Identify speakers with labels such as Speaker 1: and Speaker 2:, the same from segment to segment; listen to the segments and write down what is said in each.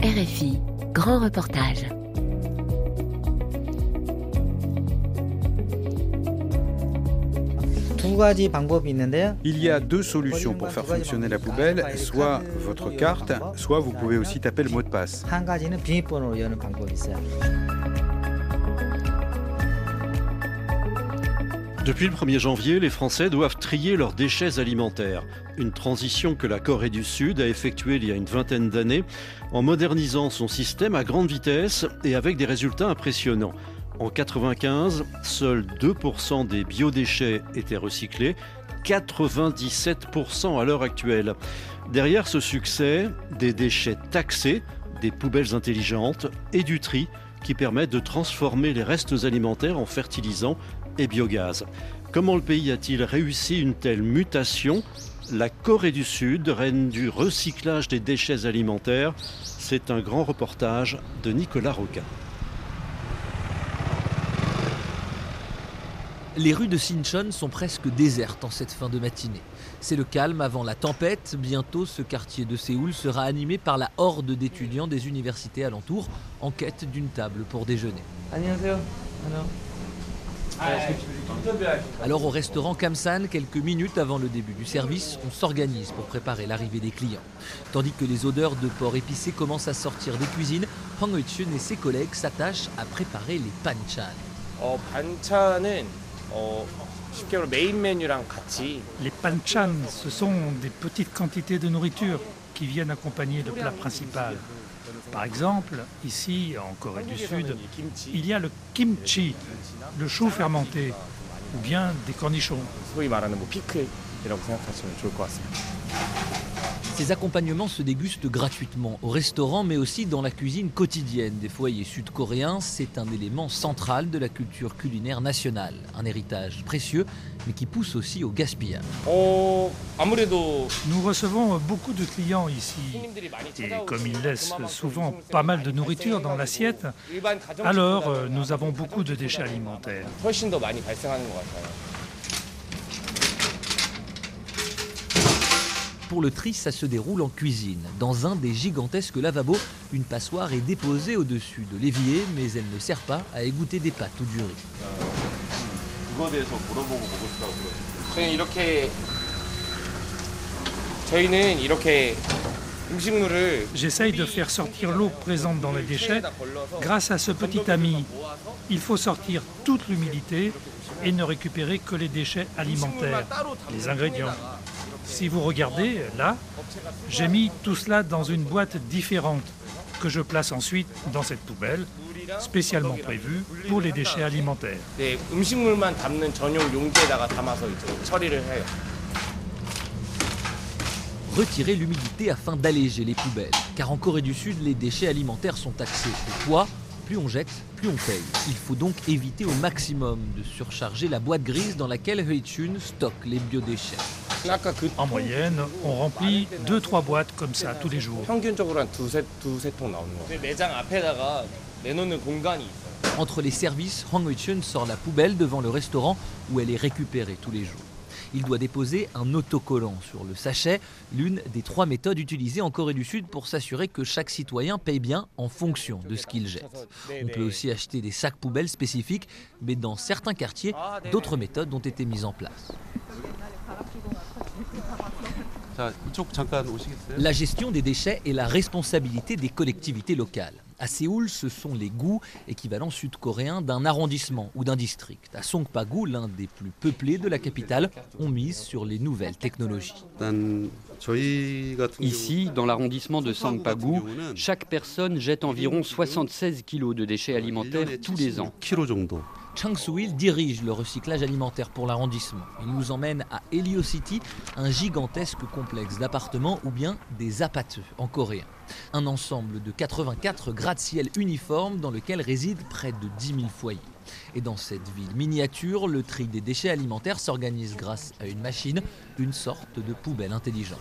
Speaker 1: RFI, grand reportage.
Speaker 2: Il y a deux solutions pour faire fonctionner la poubelle, soit votre carte, soit vous pouvez aussi taper le mot de passe.
Speaker 3: Depuis le 1er janvier, les Français doivent trier leurs déchets alimentaires. Une transition que la Corée du Sud a effectuée il y a une vingtaine d'années en modernisant son système à grande vitesse et avec des résultats impressionnants. En 1995, seuls 2% des biodéchets étaient recyclés, 97% à l'heure actuelle. Derrière ce succès, des déchets taxés, des poubelles intelligentes et du tri qui permettent de transformer les restes alimentaires en fertilisants et biogaz. Comment le pays a-t-il réussi une telle mutation ? La Corée du Sud, reine du recyclage des déchets alimentaires, c'est un grand reportage de Nicolas Roca.
Speaker 4: Les rues de Sinchon sont presque désertes en cette fin de matinée. C'est le calme avant la tempête. Bientôt, ce quartier de Séoul sera animé par la horde d'étudiants des universités alentours en quête d'une table pour déjeuner. Alors au restaurant Kamsan, quelques minutes avant le début du service, on s'organise pour préparer l'arrivée des clients. Tandis que les odeurs de porc épicé commencent à sortir des cuisines, Hwang Hoi-chun et ses collègues s'attachent à préparer les banchan.
Speaker 5: Les banchan, ce sont des petites quantités de nourriture qui viennent accompagner le plat principal. Par exemple, ici, en Corée du Sud, il y a le kimchi, le chou fermenté, ou bien des cornichons.
Speaker 4: Ces accompagnements se dégustent gratuitement au restaurant, mais aussi dans la cuisine quotidienne des foyers sud-coréens. C'est un élément central de la culture culinaire nationale. Un héritage précieux, mais qui pousse aussi au gaspillage.
Speaker 5: Nous recevons beaucoup de clients ici. Et comme ils laissent souvent pas mal de nourriture dans l'assiette, alors nous avons beaucoup de déchets alimentaires.
Speaker 4: Pour le tri, ça se déroule en cuisine. Dans un des gigantesques lavabos, une passoire est déposée au-dessus de l'évier, mais elle ne sert pas à égoutter des pâtes ou du riz.
Speaker 5: J'essaye de faire sortir l'eau présente dans les déchets grâce à ce petit ami. Il faut sortir toute l'humidité et ne récupérer que les déchets alimentaires, les ingrédients. Si vous regardez, là, j'ai mis tout cela dans une boîte différente que je place ensuite dans cette poubelle, spécialement prévue pour les déchets alimentaires.
Speaker 4: Retirer l'humidité afin d'alléger les poubelles. Car en Corée du Sud, les déchets alimentaires sont taxés au poids. Plus on jette, plus on paye. Il faut donc éviter au maximum de surcharger la boîte grise dans laquelle Hoi-chun stocke les biodéchets.
Speaker 5: En moyenne, on remplit 2-3 boîtes comme ça tous les jours.
Speaker 4: Entre les services, Hwang Hoi-chun sort la poubelle devant le restaurant où elle est récupérée tous les jours. Il doit déposer un autocollant sur le sachet, l'une des 3 méthodes utilisées en Corée du Sud pour s'assurer que chaque citoyen paye bien en fonction de ce qu'il jette. On peut aussi acheter des sacs poubelles spécifiques, mais dans certains quartiers, d'autres méthodes ont été mises en place. La gestion des déchets est la responsabilité des collectivités locales. À Séoul, ce sont les gu, équivalent sud-coréen d'un arrondissement ou d'un district. À Songpa-gu, l'un des plus peuplés de la capitale, on mise sur les nouvelles technologies.
Speaker 6: Ici, dans l'arrondissement de Songpa-gu, chaque personne jette environ 76 kg de déchets alimentaires tous les ans.
Speaker 4: Chang Soo-il dirige le recyclage alimentaire pour l'arrondissement. Il nous emmène à Heliocity, un gigantesque complexe d'appartements ou bien des apateux en coréen. Un ensemble de 84 gratte-ciel uniformes dans lequel résident près de 10 000 foyers. Et dans cette ville miniature, le tri des déchets alimentaires s'organise grâce à une machine, une sorte de poubelle intelligente.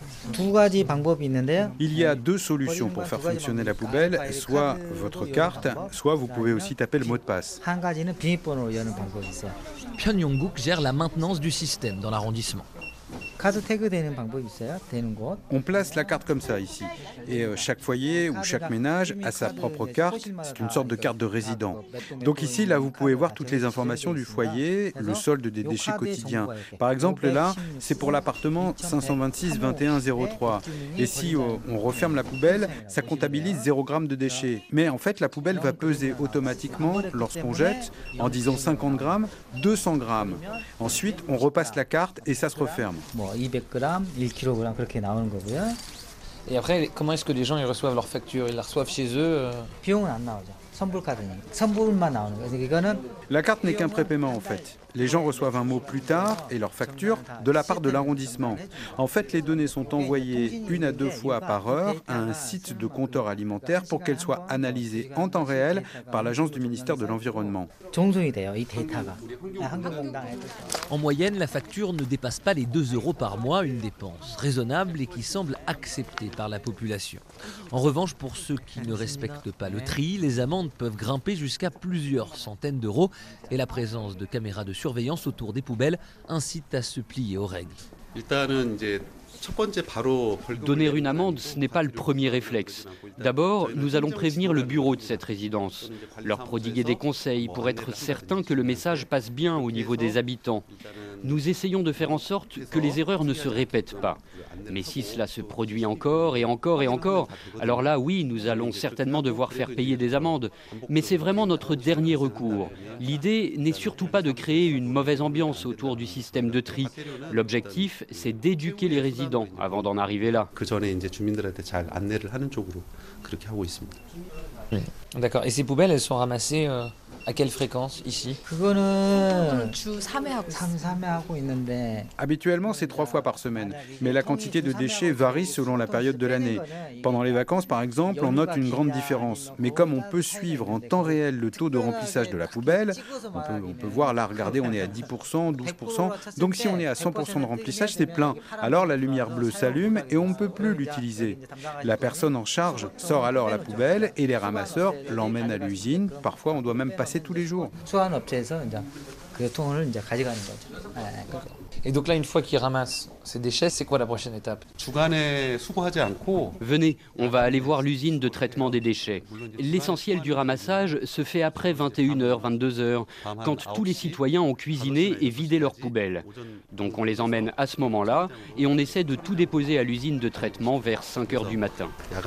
Speaker 2: Il y a deux solutions pour faire fonctionner la poubelle, soit votre carte, soit vous pouvez aussi taper le mot de passe.
Speaker 4: Pyongyang-guk gère la maintenance du système dans l'arrondissement.
Speaker 2: On place la carte comme ça ici. Et chaque foyer ou chaque ménage a sa propre carte. C'est une sorte de carte de résident. Donc ici, là, vous pouvez voir toutes les informations du foyer, le solde des déchets quotidiens. Par exemple, là, c'est pour l'appartement 526 21 03. Et si on referme la poubelle, ça comptabilise 0 g de déchets. Mais en fait, la poubelle va peser automatiquement, lorsqu'on jette, en disant 50 grammes, 200 grammes. Ensuite, on repasse la carte et ça se referme.
Speaker 7: 200 grammes, 1 kg 그렇게 나오는 거고요.
Speaker 4: Et après, comment est-ce que les gens ils reçoivent leurs factures? Ils la reçoivent chez eux
Speaker 7: 비용은 안 나오죠. 선불카드니. 선불만 나오는 거예요. 이거는
Speaker 2: La carte n'est qu'un prépaiement en fait. Les gens reçoivent un mot plus tard et leur facture de la part de l'arrondissement. En fait, les données sont envoyées 1 à 2 fois par heure à un site de compteur alimentaire pour qu'elles soient analysées en temps réel par l'agence du ministère de l'Environnement.
Speaker 7: 종송이 돼요. 이 데이터가. 환경공단에.
Speaker 4: En moyenne, la facture ne dépasse pas les 2 € par mois, une dépense raisonnable et qui semble acceptée par la population. En revanche, pour ceux qui ne respectent pas le tri, les amendes peuvent grimper jusqu'à plusieurs centaines d'euros et la présence de caméras de surveillance autour des poubelles incite à se plier aux règles.
Speaker 6: Donner une amende, ce n'est pas le premier réflexe. D'abord, nous allons prévenir le bureau de cette résidence, leur prodiguer des conseils pour être certain que le message passe bien au niveau des habitants. Nous essayons de faire en sorte que les erreurs ne se répètent pas. Mais si cela se produit encore et encore et encore, alors là, oui, nous allons certainement devoir faire payer des amendes. Mais c'est vraiment notre dernier recours. L'idée n'est surtout pas de créer une mauvaise ambiance autour du système de tri. L'objectif, c'est d'éduquer les résidents avant d'en arriver là.
Speaker 4: D'accord. Et ces poubelles, elles sont ramassées à quelle fréquence ici?
Speaker 7: 그거는 주 3회 하고 있는데.
Speaker 2: Habituellement, c'est 3 fois par semaine, mais la quantité de déchets varie selon la période de l'année. Pendant les vacances, par exemple, on note une grande différence. Mais comme on peut suivre en temps réel le taux de remplissage de la poubelle, on peut voir là, regardez, on est à 10%, 12%. Donc si on est à 100% de remplissage, c'est plein. Alors la lumière bleue s'allume et on ne peut plus l'utiliser. La personne en charge sort alors la poubelle et les ramasseurs l'emmènent à l'usine. Parfois, on doit même passer tous les jours.
Speaker 7: 수환업체에서 이제 그 통을 이제 가져가는 거죠.
Speaker 4: Et donc là, une fois qu'ils ramassent ces déchets, c'est quoi la prochaine étape?
Speaker 6: Venez, on va aller voir l'usine de traitement des déchets. L'essentiel du ramassage se fait après 21h, 22h, quand tous les citoyens ont cuisiné et vidé leurs poubelles. Donc on les emmène à ce moment-là et on essaie de tout déposer à l'usine de traitement vers 5h du matin.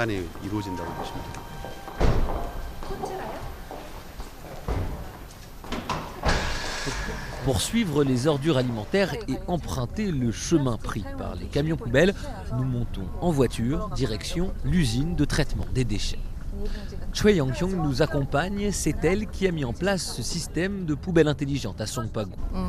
Speaker 4: Pour suivre les ordures alimentaires et emprunter le chemin pris par les camions poubelles, nous montons en voiture, direction l'usine de traitement des déchets. Choi Yang-hyung nous accompagne, c'est elle qui a mis en place ce système de poubelles intelligentes à Songpa-gu.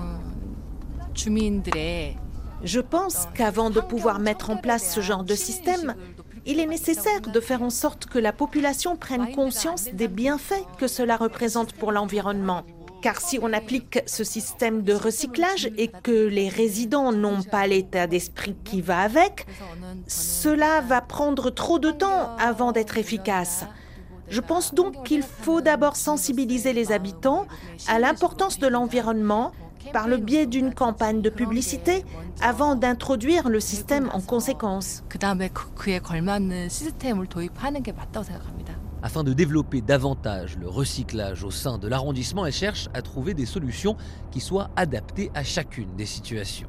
Speaker 8: Je pense qu'avant de pouvoir mettre en place ce genre de système, il est nécessaire de faire en sorte que la population prenne conscience des bienfaits que cela représente pour l'environnement. Car si on applique ce système de recyclage et que les résidents n'ont pas l'état d'esprit qui va avec, cela va prendre trop de temps avant d'être efficace. Je pense donc qu'il faut d'abord sensibiliser les habitants à l'importance de l'environnement par le biais d'une campagne de publicité avant d'introduire le système en conséquence.
Speaker 4: Afin de développer davantage le recyclage au sein de l'arrondissement, elle cherche à trouver des solutions qui soient adaptées à chacune des situations.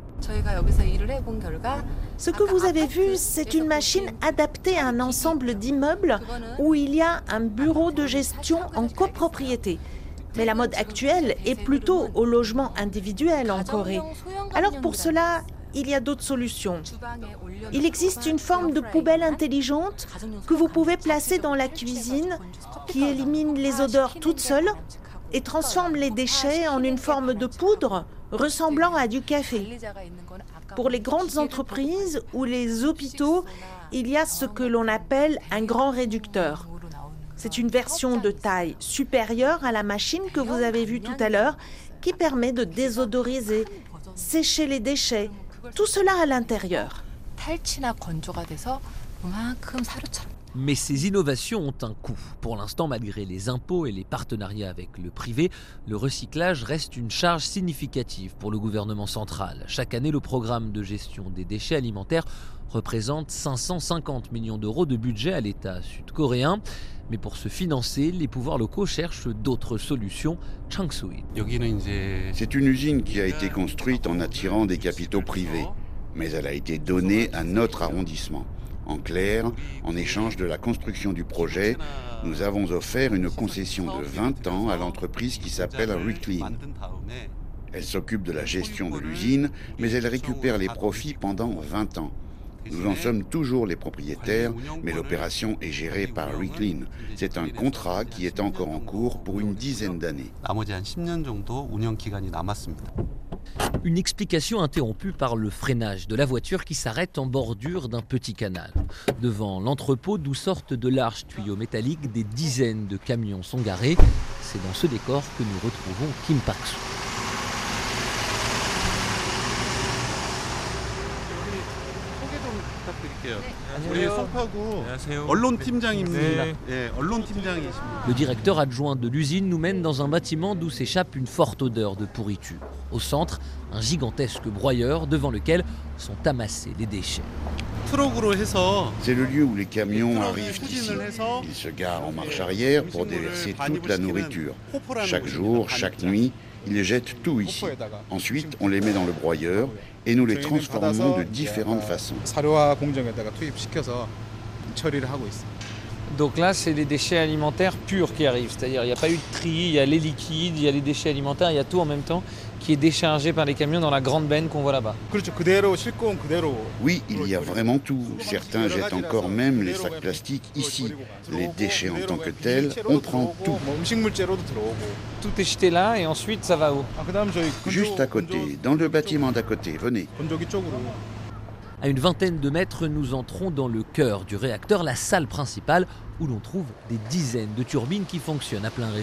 Speaker 8: Ce que vous avez vu, c'est une machine adaptée à un ensemble d'immeubles où il y a un bureau de gestion en copropriété. Mais la mode actuelle est plutôt au logement individuel en Corée. Alors pour cela, il y a d'autres solutions. Il existe une forme de poubelle intelligente que vous pouvez placer dans la cuisine qui élimine les odeurs toute seule et transforme les déchets en une forme de poudre ressemblant à du café. Pour les grandes entreprises ou les hôpitaux, il y a ce que l'on appelle un grand réducteur. C'est une version de taille supérieure à la machine que vous avez vue tout à l'heure qui permet de désodoriser, sécher les déchets, tout cela à l'intérieur.
Speaker 4: Mais ces innovations ont un coût. Pour l'instant, malgré les impôts et les partenariats avec le privé, le recyclage reste une charge significative pour le gouvernement central. Chaque année, le programme de gestion des déchets alimentaires représente 550 millions d'euros de budget à l'État sud-coréen. Mais pour se financer, les pouvoirs locaux cherchent d'autres solutions. Chang Soo-il.
Speaker 9: C'est une usine qui a été construite en attirant des capitaux privés, mais elle a été donnée à notre arrondissement. En clair, en échange de la construction du projet, nous avons offert une concession de 20 ans à l'entreprise qui s'appelle Reclean. Elle s'occupe de la gestion de l'usine, mais elle récupère les profits pendant 20 ans. Nous en sommes toujours les propriétaires, mais l'opération est gérée par Reclean. C'est un contrat qui est encore en cours pour une dizaine d'années.
Speaker 4: Une explication interrompue par le freinage de la voiture qui s'arrête en bordure d'un petit canal. Devant l'entrepôt d'où sortent de larges tuyaux métalliques, des dizaines de camions sont garés. C'est dans ce décor que nous retrouvons Kim Pak-soo. Le directeur adjoint de l'usine nous mène dans un bâtiment d'où s'échappe une forte odeur de pourriture. Au centre, un gigantesque broyeur devant lequel sont amassés les déchets.
Speaker 9: C'est le lieu où les camions arrivent ici. Ils se garent en marche arrière pour déverser toute la nourriture. Chaque jour, chaque nuit, ils jettent tout ici. Ensuite, on les met dans le broyeur et nous les transformons de différentes façons.
Speaker 10: Donc là, c'est les déchets alimentaires purs qui arrivent. C'est-à-dire, il n'y a pas eu de tri, il y a les liquides, il y a les déchets alimentaires, il y a tout en même temps qui est déchargé par les camions dans la grande benne qu'on voit là-bas.
Speaker 9: Oui, il y a vraiment tout. Certains jettent encore même les sacs plastiques ici. Les déchets en tant que tels, on prend tout.
Speaker 10: Tout est jeté là et ensuite ça va où?
Speaker 9: Juste à côté, dans le bâtiment d'à côté, venez.
Speaker 4: À une vingtaine de mètres, nous entrons dans le cœur du réacteur, la salle principale, où l'on trouve des dizaines de turbines qui fonctionnent à plein régime.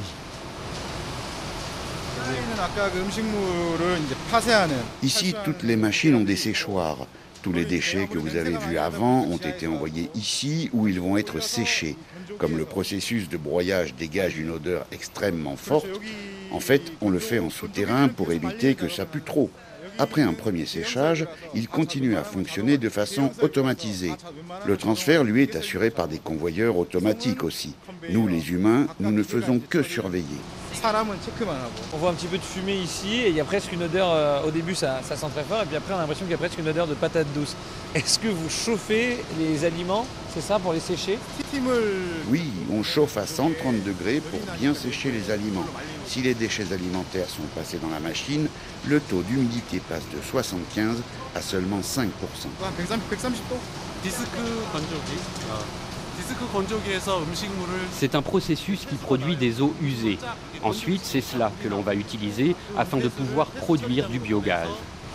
Speaker 9: Ici, toutes les machines ont des séchoirs. Tous les déchets que vous avez vus avant ont été envoyés ici où ils vont être séchés. Comme le processus de broyage dégage une odeur extrêmement forte, en fait, on le fait en souterrain pour éviter que ça pue trop. Après un premier séchage, il continue à fonctionner de façon automatisée. Le transfert, lui, est assuré par des convoyeurs automatiques aussi. Nous, les humains, nous ne faisons que surveiller.
Speaker 10: On voit un petit peu de fumée ici et il y a presque une odeur, au début ça sent très fort et puis après on a l'impression qu'il y a presque une odeur de patate douce. Est-ce que vous chauffez les aliments, c'est ça, pour les sécher?
Speaker 9: Oui, on chauffe à 130 degrés pour bien sécher les aliments. Si les déchets alimentaires sont passés dans la machine, le taux d'humidité passe de 75 à seulement 5%.
Speaker 6: C'est un processus qui produit des eaux usées. Ensuite, c'est cela que l'on va utiliser afin de pouvoir produire du biogaz.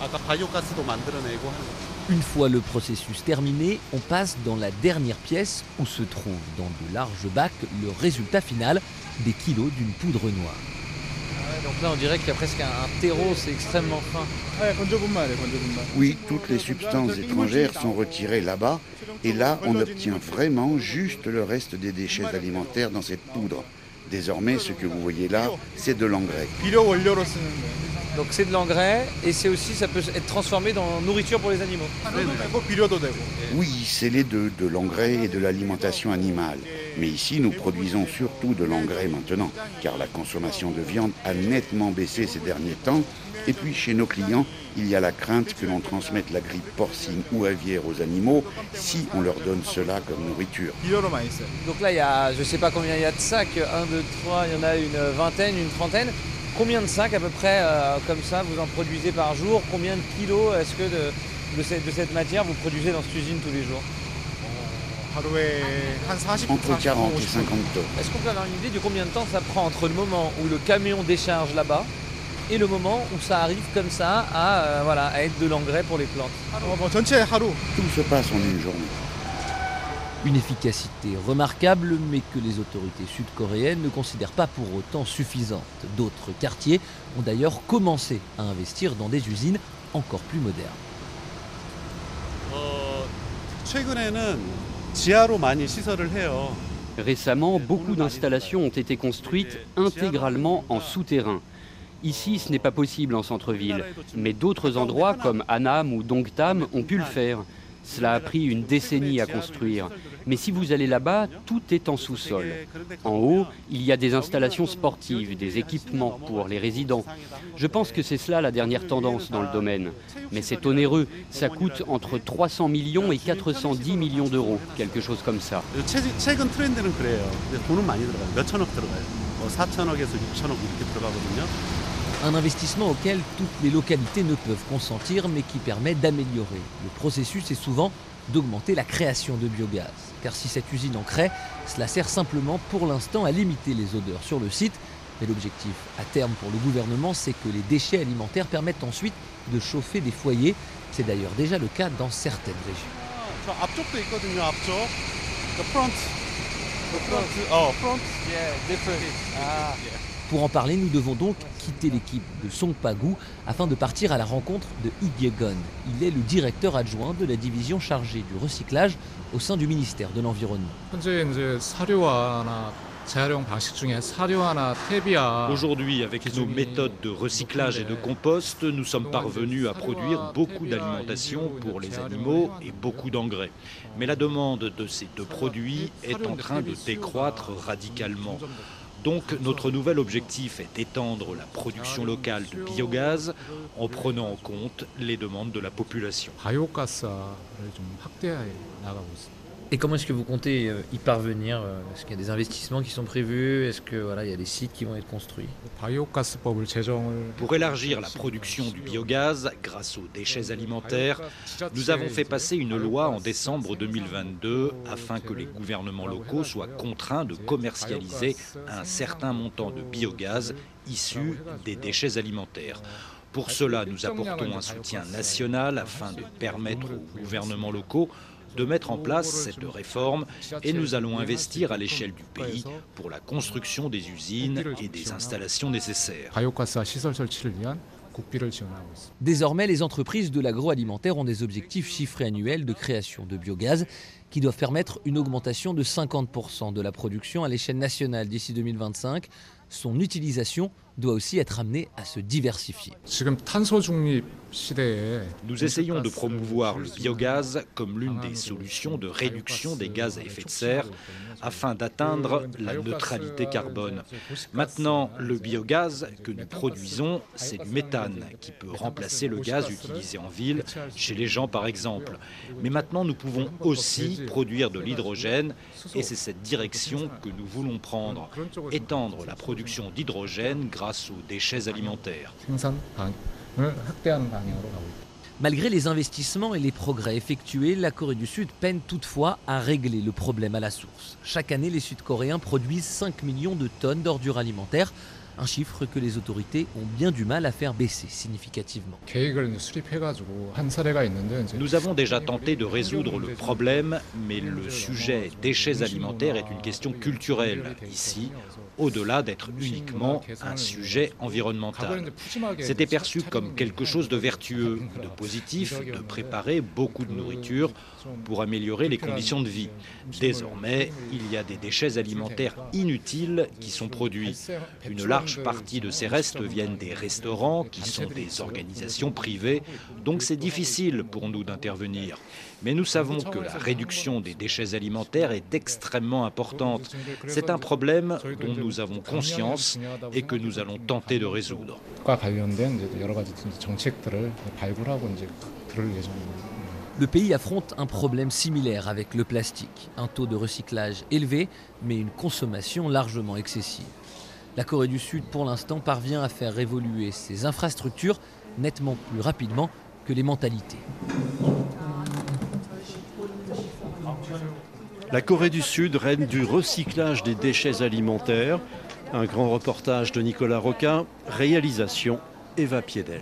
Speaker 4: Une fois le processus terminé, on passe dans la dernière pièce où se trouve dans de larges bacs le résultat final, des kilos d'une poudre noire.
Speaker 10: Donc là on dirait qu'il y a presque un terreau, c'est extrêmement fin.
Speaker 9: Oui, toutes les substances étrangères sont retirées là-bas et là on obtient vraiment juste le reste des déchets alimentaires dans cette poudre. Désormais, ce que vous voyez là, c'est de l'engrais.
Speaker 10: Donc c'est de l'engrais et c'est aussi, ça peut être transformé en nourriture pour les animaux.
Speaker 9: Oui, c'est les deux, de l'engrais et de l'alimentation animale. Mais ici, nous produisons surtout de l'engrais maintenant, car la consommation de viande a nettement baissé ces derniers temps. Et puis chez nos clients, il y a la crainte que l'on transmette la grippe porcine ou aviaire aux animaux si on leur donne cela comme nourriture.
Speaker 10: Donc là, il y a, je ne sais pas combien il y a de sacs, 1, 2, 3, il y en a une vingtaine, une trentaine. Combien de sacs à peu près comme ça vous en produisez par jour? Combien de kilos est-ce que de cette matière vous produisez dans cette usine tous les jours?
Speaker 9: Entre 40 et 50 tonnes.
Speaker 10: Est-ce qu'on peut avoir une idée de combien de temps ça prend entre le moment où le camion décharge là-bas et le moment où ça arrive comme ça à être de l'engrais pour les plantes?
Speaker 9: Tout se passe en une journée.
Speaker 4: Une efficacité remarquable, mais que les autorités sud-coréennes ne considèrent pas pour autant suffisante. D'autres quartiers ont d'ailleurs commencé à investir dans des usines encore plus modernes.
Speaker 6: Récemment, beaucoup d'installations ont été construites intégralement en souterrain. Ici, ce n'est pas possible en centre-ville, mais d'autres endroits comme Annam ou Dongtam ont pu le faire. Cela a pris une décennie à construire. Mais si vous allez là-bas, tout est en sous-sol. En haut, il y a des installations sportives, des équipements pour les résidents. Je pense que c'est cela la dernière tendance dans le domaine. Mais c'est onéreux, ça coûte entre 300 millions et 410 millions d'euros, quelque chose comme ça.
Speaker 4: Un investissement auquel toutes les localités ne peuvent consentir, mais qui permet d'améliorer. Le processus est souvent d'augmenter la création de biogaz. Car si cette usine en crée, cela sert simplement pour l'instant à limiter les odeurs sur le site. Mais l'objectif à terme pour le gouvernement, c'est que les déchets alimentaires permettent ensuite de chauffer des foyers. C'est d'ailleurs déjà le cas dans certaines régions. Pour en parler, nous devons donc quitter l'équipe de Songpa-gu afin de partir à la rencontre de Lee Gye-gon. Il est le directeur adjoint de la division chargée du recyclage au sein du ministère de l'Environnement.
Speaker 11: Aujourd'hui, avec nos méthodes de recyclage et de compost, nous sommes parvenus à produire beaucoup d'alimentation pour les animaux et beaucoup d'engrais. Mais la demande de ces deux produits est en train de décroître radicalement. Donc notre nouvel objectif est d'étendre la production locale de biogaz en prenant en compte les demandes de la population.
Speaker 4: Et comment est-ce que vous comptez y parvenir? Est-ce qu'il y a des investissements qui sont prévus? Est-ce qu'il y a des sites qui vont être construits?
Speaker 11: Pour élargir la production du biogaz grâce aux déchets alimentaires, nous avons fait passer une loi en décembre 2022 afin que les gouvernements locaux soient contraints de commercialiser un certain montant de biogaz issu des déchets alimentaires. Pour cela, nous apportons un soutien national afin de permettre aux gouvernements locaux de mettre en place cette réforme et nous allons investir à l'échelle du pays pour la construction des usines et des installations nécessaires.
Speaker 4: Désormais, les entreprises de l'agroalimentaire ont des objectifs chiffrés annuels de création de biogaz qui doivent permettre une augmentation de 50% de la production à l'échelle nationale d'ici 2025. Son utilisation doit aussi être amenée à se diversifier.
Speaker 11: Nous essayons de promouvoir le biogaz comme l'une des solutions de réduction des gaz à effet de serre afin d'atteindre la neutralité carbone. Maintenant, le biogaz que nous produisons, c'est du méthane qui peut remplacer le gaz utilisé en ville, chez les gens par exemple. Mais maintenant, nous pouvons aussi produire de l'hydrogène et c'est cette direction que nous voulons prendre, étendre la production d'hydrogène grâce aux déchets alimentaires.
Speaker 4: Malgré les investissements et les progrès effectués, la Corée du Sud peine toutefois à régler le problème à la source. Chaque année, les Sud-Coréens produisent 5 millions de tonnes d'ordures alimentaires, un chiffre que les autorités ont bien du mal à faire baisser significativement.
Speaker 11: Nous avons déjà tenté de résoudre le problème, mais le sujet déchets alimentaires est une question culturelle ici, au-delà d'être uniquement un sujet environnemental. C'était perçu comme quelque chose de vertueux, de positif, de préparer beaucoup de nourriture pour améliorer les conditions de vie. Désormais, il y a des déchets alimentaires inutiles qui sont produits. Une large partie de ces restes viennent des restaurants qui sont des organisations privées, donc c'est difficile pour nous d'intervenir. Mais nous savons que la réduction des déchets alimentaires est extrêmement importante. C'est un problème dont nous avons conscience et que nous allons tenter de résoudre.
Speaker 4: Le pays affronte un problème similaire avec le plastique. Un taux de recyclage élevé, mais une consommation largement excessive. La Corée du Sud, pour l'instant, parvient à faire évoluer ses infrastructures nettement plus rapidement que les mentalités.
Speaker 3: La Corée du Sud règne du recyclage des déchets alimentaires. Un grand reportage de Nicolas Roquin, réalisation Eva Piedel.